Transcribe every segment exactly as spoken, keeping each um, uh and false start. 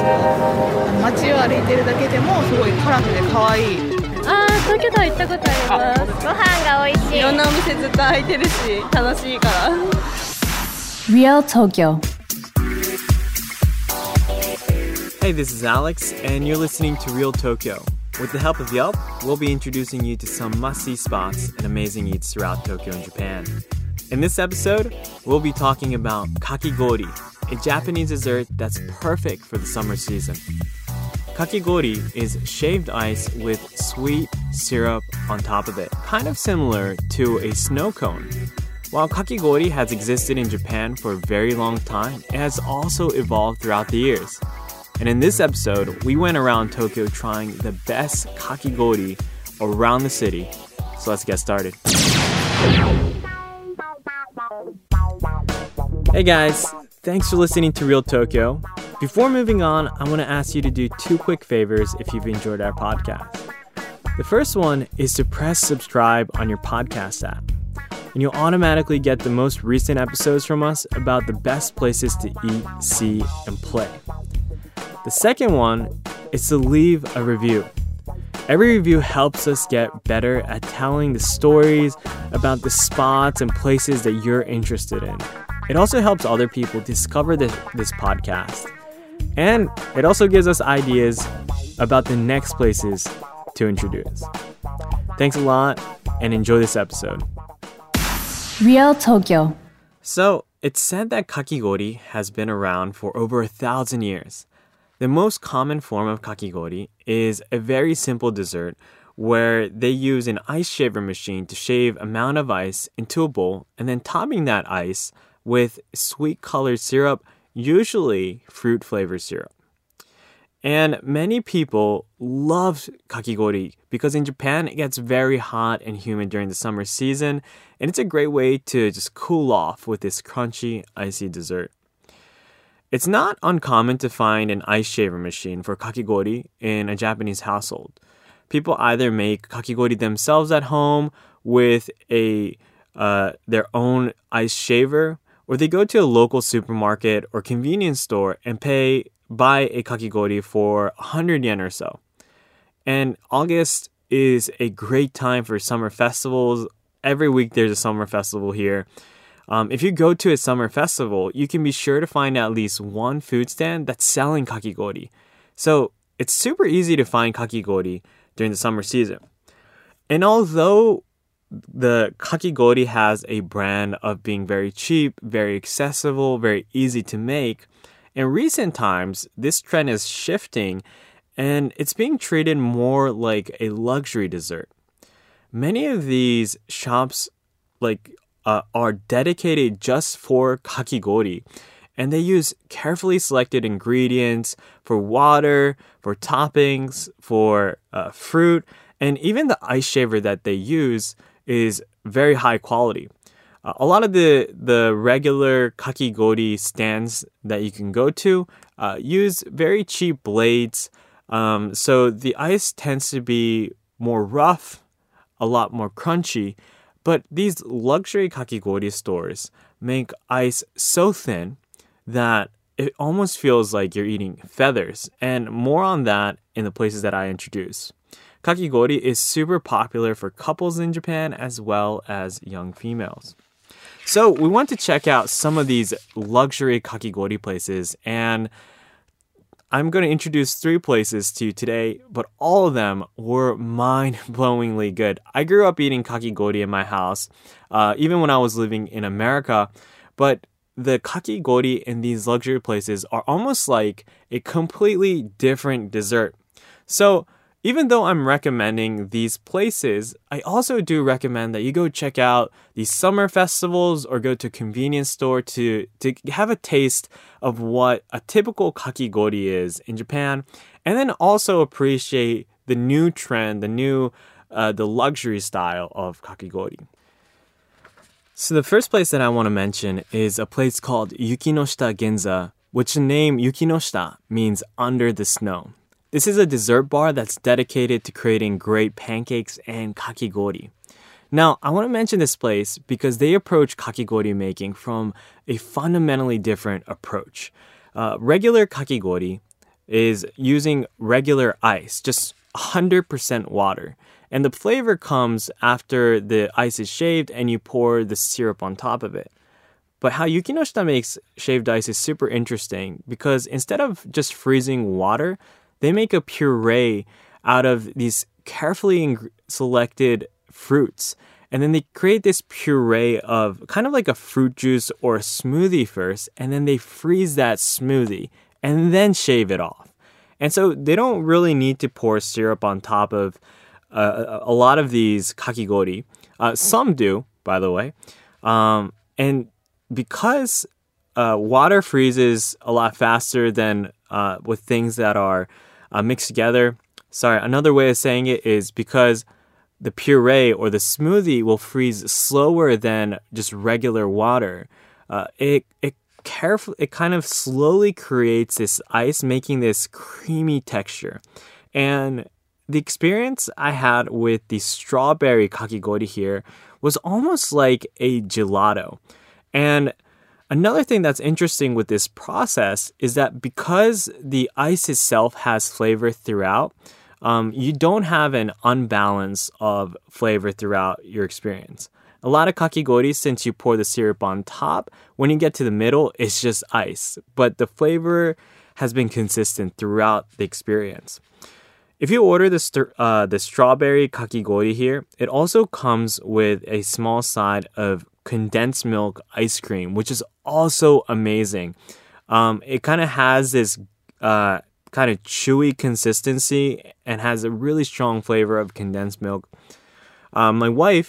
あの街を歩いてるだけでもすごいカラフルで可愛い。 あー、東京タワー行ったことあります。ご飯が美味しい。 いろんなお店ずっと開いてるし楽しいから。 Real Tokyo. Hey, this is Alex, and you're listening to Real Tokyo. With the help of Yelp, we'll be introducing you to some must-see spots and amazing eats throughout Tokyo and Japan. In this episode, we'll be talking about kakigori, a Japanese dessert that's perfect for the summer season. Kakigori is shaved ice with sweet syrup on top of it, kind of similar to a snow cone. While kakigori has existed in Japan for a very long time, it has also evolved throughout the years. And in this episode, we went around Tokyo trying the best kakigori around the city. So let's get started. Hey guys, thanks for listening to Real Tokyo. Before moving on, I want to ask you to do two quick favors if you've enjoyed our podcast. The first one is to press subscribe on your podcast app, and you'll automatically get the most recent episodes from us about the best places to eat, see, and play. The second one is to leave a review. Every review helps us get better at telling the stories about the spots and places that you're interested in. It also helps other people discover this, this podcast. And it also gives us ideas about the next places to introduce. Thanks a lot and enjoy this episode. Real Tokyo. So, it's said that kakigori has been around for over a thousand years. The most common form of kakigori is a very simple dessert where they use an ice shaver machine to shave amount of ice into a bowl and then topping that ice with sweet colored syrup, usually fruit flavored syrup. And many people love kakigori because in Japan it gets very hot and humid during the summer season, and it's a great way to just cool off with this crunchy, icy dessert. It's not uncommon to find an ice shaver machine for kakigori in a Japanese household. People either make kakigori themselves at home with a uh, their own ice shaver, or they go to a local supermarket or convenience store and pay buy a kakigori for one hundred yen or so. And August is a great time for summer festivals. Every week there's a summer festival here. Um, if you go to a summer festival, you can be sure to find at least one food stand that's selling kakigori. So it's super easy to find kakigori during the summer season. And although the kakigori has a brand of being very cheap, very accessible, very easy to make, in recent times, this trend is shifting and it's being treated more like a luxury dessert. Many of these shops like uh, are dedicated just for kakigori, and they use carefully selected ingredients for water, for toppings, for uh, fruit, and even the ice shaver that they use is very high quality. Uh, a lot of the, the regular kakigori stands that you can go to uh, use very cheap blades, um, so the ice tends to be more rough, a lot more crunchy, but these luxury kakigori stores make ice so thin that it almost feels like you're eating feathers, and more on that in the places that I introduce. Kakigori is super popular for couples in Japan as well as young females. So we want to check out some of these luxury kakigori places, and I'm going to introduce three places to you today, but all of them were mind-blowingly good. I grew up eating kakigori in my house, uh, even when I was living in America, but the kakigori in these luxury places are almost like a completely different dessert. So even though I'm recommending these places, I also do recommend that you go check out these summer festivals or go to a convenience store to, to have a taste of what a typical kakigori is in Japan, and then also appreciate the new trend, the new, uh, the luxury style of kakigori. So the first place that I want to mention is a place called Yukinoshita Ginza, which the name Yukinoshita means under the snow. This is a dessert bar that's dedicated to creating great pancakes and kakigori. Now, I want to mention this place because they approach kakigori making from a fundamentally different approach. Uh, regular kakigori is using regular ice, just one hundred percent water. And the flavor comes after the ice is shaved and you pour the syrup on top of it. But how Yukinoshita makes shaved ice is super interesting because instead of just freezing water, they make a puree out of these carefully ing- selected fruits. And then they create this puree of kind of like a fruit juice or a smoothie first, and then they freeze that smoothie and then shave it off. And so they don't really need to pour syrup on top of uh, a lot of these kakigori. Uh, some do, by the way. Um, and because uh, water freezes a lot faster than uh, with things that are uh, mixed together. Sorry, another way of saying it is because the puree or the smoothie will freeze slower than just regular water. Uh, it it carefully, it kind of slowly creates this ice, making this creamy texture. And the experience I had with the strawberry kakigori here was almost like a gelato. And another thing that's interesting with this process is that because the ice itself has flavor throughout, um, you don't have an unbalance of flavor throughout your experience. A lot of kakigori, since you pour the syrup on top, when you get to the middle, it's just ice. But the flavor has been consistent throughout the experience. If you order the, st- uh, the strawberry kakigori here, it also comes with a small side of condensed milk ice cream, which is also amazing. Um, it kind of has this uh, kind of chewy consistency and has a really strong flavor of condensed milk. Um, my wife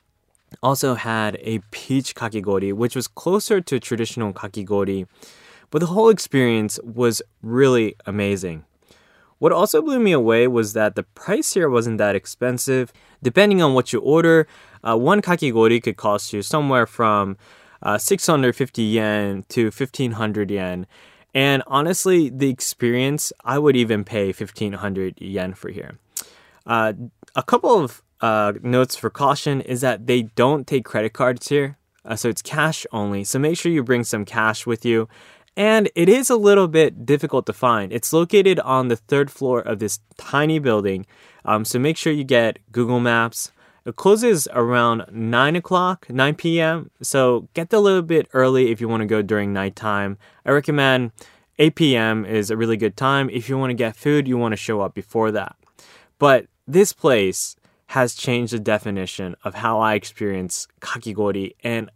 also had a peach kakigori, which was closer to traditional kakigori, but the whole experience was really amazing. What also blew me away was that the price here wasn't that expensive. Depending on what you order, uh, one kakigori could cost you somewhere from uh, six hundred fifty yen to fifteen hundred yen. And honestly, the experience, I would even pay fifteen hundred yen for here. Uh, a couple of uh, notes for caution is that they don't take credit cards here. Uh, so it's cash only. So make sure you bring some cash with you. And it is a little bit difficult to find. It's located on the third floor of this tiny building. Um, so make sure you get Google Maps. It closes around nine o'clock, nine p.m. So get there a little bit early if you want to go during nighttime. I recommend eight p.m. is a really good time. If you want to get food, you want to show up before that. But this place has changed the definition of how I experience kakigori, and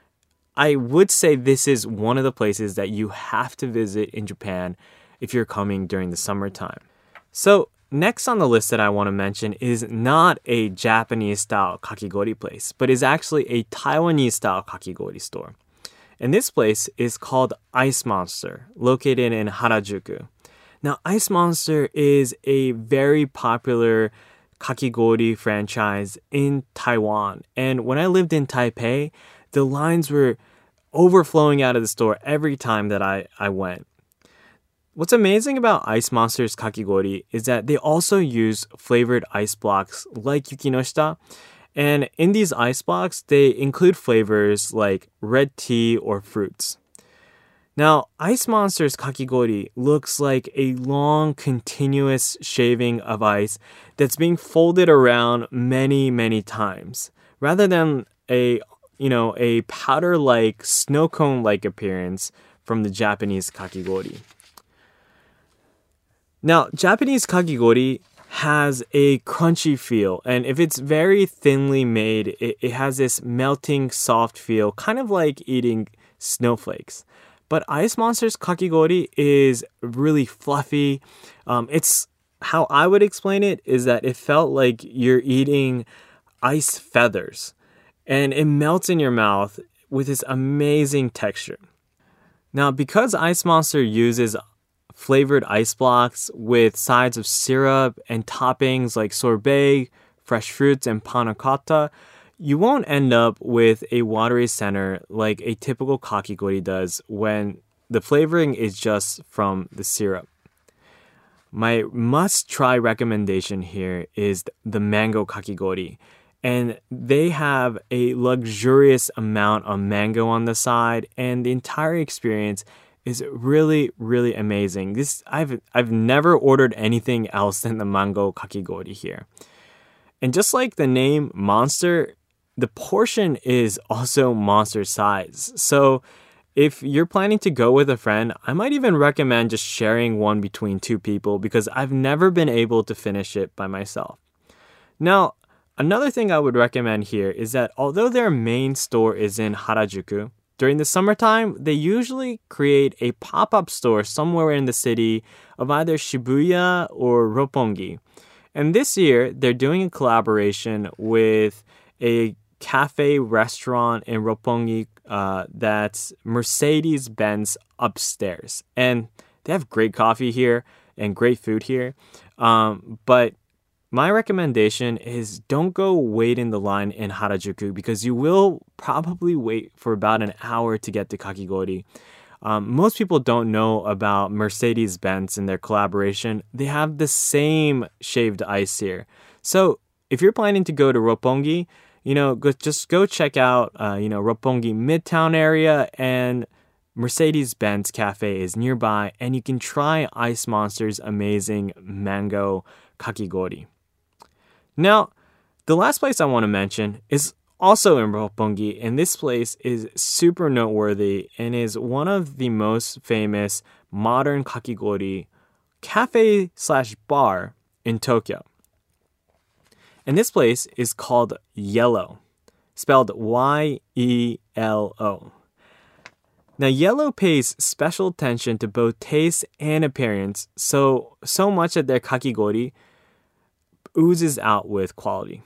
I would say this is one of the places that you have to visit in Japan if you're coming during the summertime. So next on the list that I want to mention is not a Japanese-style kakigori place, but is actually a Taiwanese-style kakigori store. And this place is called Ice Monster, located in Harajuku. Now, Ice Monster is a very popular kakigori franchise in Taiwan. And when I lived in Taipei, the lines were overflowing out of the store every time that I, I went. What's amazing about Ice Monster's kakigori is that they also use flavored ice blocks like Yukinoshita. And in these ice blocks, they include flavors like red tea or fruits. Now, Ice Monster's kakigori looks like a long, continuous shaving of ice that's being folded around many, many times, rather than a you know, a powder-like, snow cone-like appearance from the Japanese kakigori. Now, Japanese kakigori has a crunchy feel, and if it's very thinly made, it, it has this melting, soft feel, kind of like eating snowflakes. But Ice Monster's kakigori is really fluffy. Um, it's how I would explain it is that it felt like you're eating ice feathers. And it melts in your mouth with this amazing texture. Now, because Ice Monster uses flavored ice blocks with sides of syrup and toppings like sorbet, fresh fruits, and panna cotta, you won't end up with a watery center like a typical kakigori does when the flavoring is just from the syrup. My must-try recommendation here is the mango kakigori. And they have a luxurious amount of mango on the side, and the entire experience is really, really amazing. This I've I've never ordered anything else than the mango kakigori here. And just like the name Monster, the portion is also monster size. So if you're planning to go with a friend, I might even recommend just sharing one between two people because I've never been able to finish it by myself. Now, another thing I would recommend here is that although their main store is in Harajuku, during the summertime, they usually create a pop-up store somewhere in the city of either Shibuya or Roppongi. And this year, they're doing a collaboration with a cafe restaurant in Roppongi uh, that's Mercedes-Benz upstairs. And they have great coffee here and great food here. Um, but my recommendation is don't go wait in the line in Harajuku because you will probably wait for about an hour to get to kakigori. Um, most people don't know about Mercedes-Benz and their collaboration. They have the same shaved ice here. So if you're planning to go to Roppongi, you know, go, just go check out, uh, you know, Roppongi Midtown area, and Mercedes-Benz Cafe is nearby, and you can try Ice Monster's amazing mango kakigori. Now, the last place I want to mention is also in Roppongi, and this place is super noteworthy and is one of the most famous modern kakigori cafe slash bar in Tokyo. And this place is called Yellow, spelled Y E L O. Now, Yellow pays special attention to both taste and appearance, so so much that their kakigori oozes out with quality.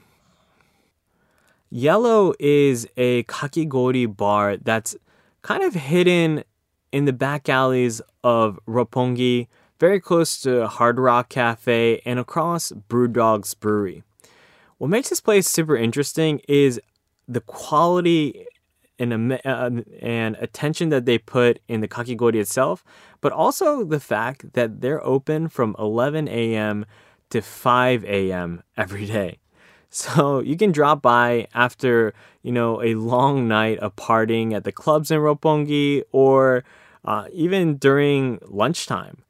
Yellow is a kakigori bar that's kind of hidden in the back alleys of Roppongi, very close to Hard Rock Cafe and across Brewdog's Brewery. What makes this place super interesting is the quality and, uh, and attention that they put in the kakigori itself, but also the fact that they're open from eleven a.m. to five a.m. every day. So you can drop by after, you know, a long night of partying at the clubs in Roppongi or uh, even during lunchtime.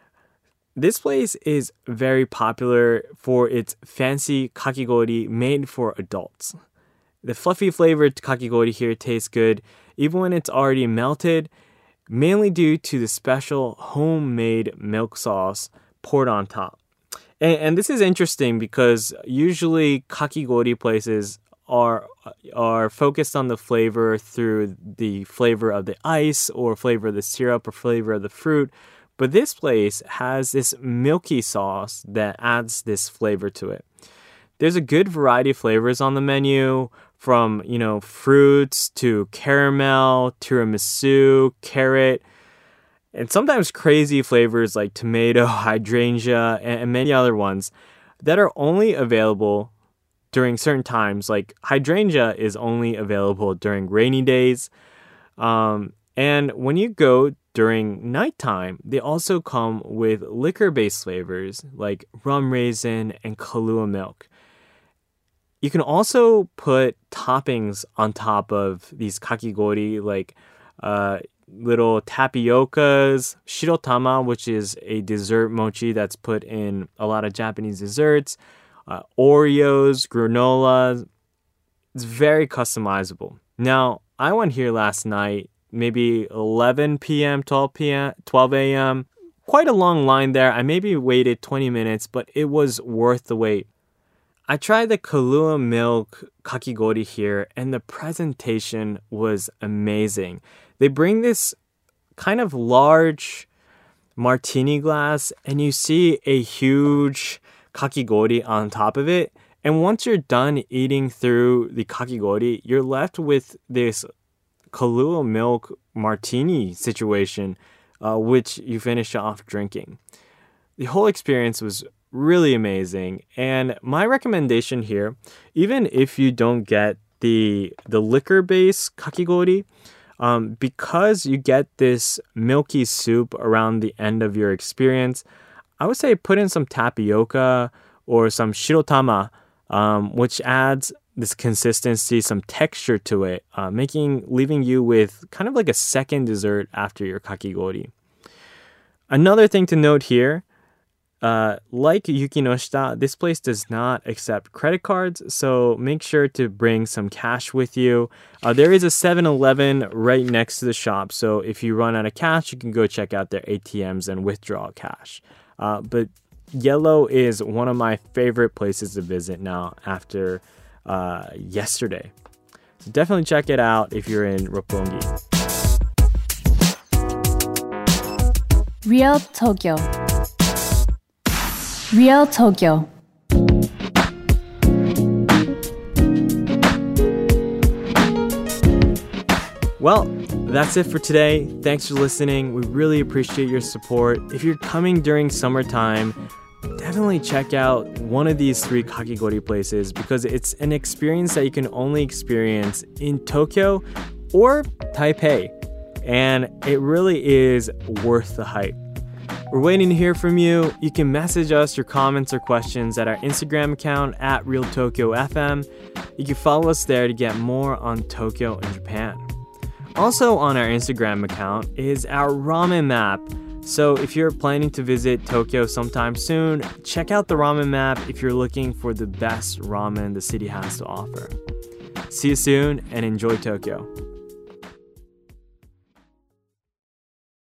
This place is very popular for its fancy kakigori made for adults. The fluffy flavored kakigori here tastes good, even when it's already melted, mainly due to the special homemade milk sauce poured on top. And, and this is interesting because usually kakigori places are are focused on the flavor through the flavor of the ice or flavor of the syrup or flavor of the fruit. But this place has this milky sauce that adds this flavor to it. There's a good variety of flavors on the menu, from, you know, fruits to caramel, tiramisu, carrot, and sometimes crazy flavors like tomato, hydrangea, and many other ones that are only available during certain times. Like hydrangea is only available during rainy days. Um, and when you go during nighttime, they also come with liquor-based flavors like rum raisin and Kahlua milk. You can also put toppings on top of these kakigori, like uh, little tapiokas, shirotama, which is a dessert mochi that's put in a lot of Japanese desserts, uh, Oreos, granola. It's very customizable. Now, I went here last night, maybe eleven p.m., twelve p.m., twelve a.m. Quite a long line there. I maybe waited twenty minutes, but it was worth the wait. I tried the Kahlua milk kakigori here, and the presentation was amazing. They bring this kind of large martini glass, and you see a huge kakigori on top of it. And once you're done eating through the kakigori, you're left with this Kahlua milk martini situation, uh, which you finish off drinking. The whole experience was really amazing, and my recommendation here, even if you don't get the the liquor-based kakigori, um, because you get this milky soup around the end of your experience, I would say put in some tapioca or some shirotama, um, which adds this consistency, some texture to it, uh, making leaving you with kind of like a second dessert after your kakigori. Another thing to note here, uh, like Yukinoshita, this place does not accept credit cards, so make sure to bring some cash with you. Uh, there is a seven eleven right next to the shop, so if you run out of cash, you can go check out their A T Ms and withdraw cash. Uh, but Yellow is one of my favorite places to visit now after uh, yesterday. So definitely check it out if you're in Roppongi. Real Tokyo. Real Tokyo. Well, that's it for today. Thanks for listening. We really appreciate your support. If you're coming during summertime, definitely check out one of these three kakigori places because it's an experience that you can only experience in Tokyo or Taipei. And it really is worth the hype. We're waiting to hear from you. You can message us your comments or questions at our Instagram account at Real Tokyo F M. You can follow us there to get more on Tokyo and Japan. Also on our Instagram account is our ramen map. So if you're planning to visit Tokyo sometime soon, check out the ramen map if you're looking for the best ramen the city has to offer. See you soon and enjoy Tokyo.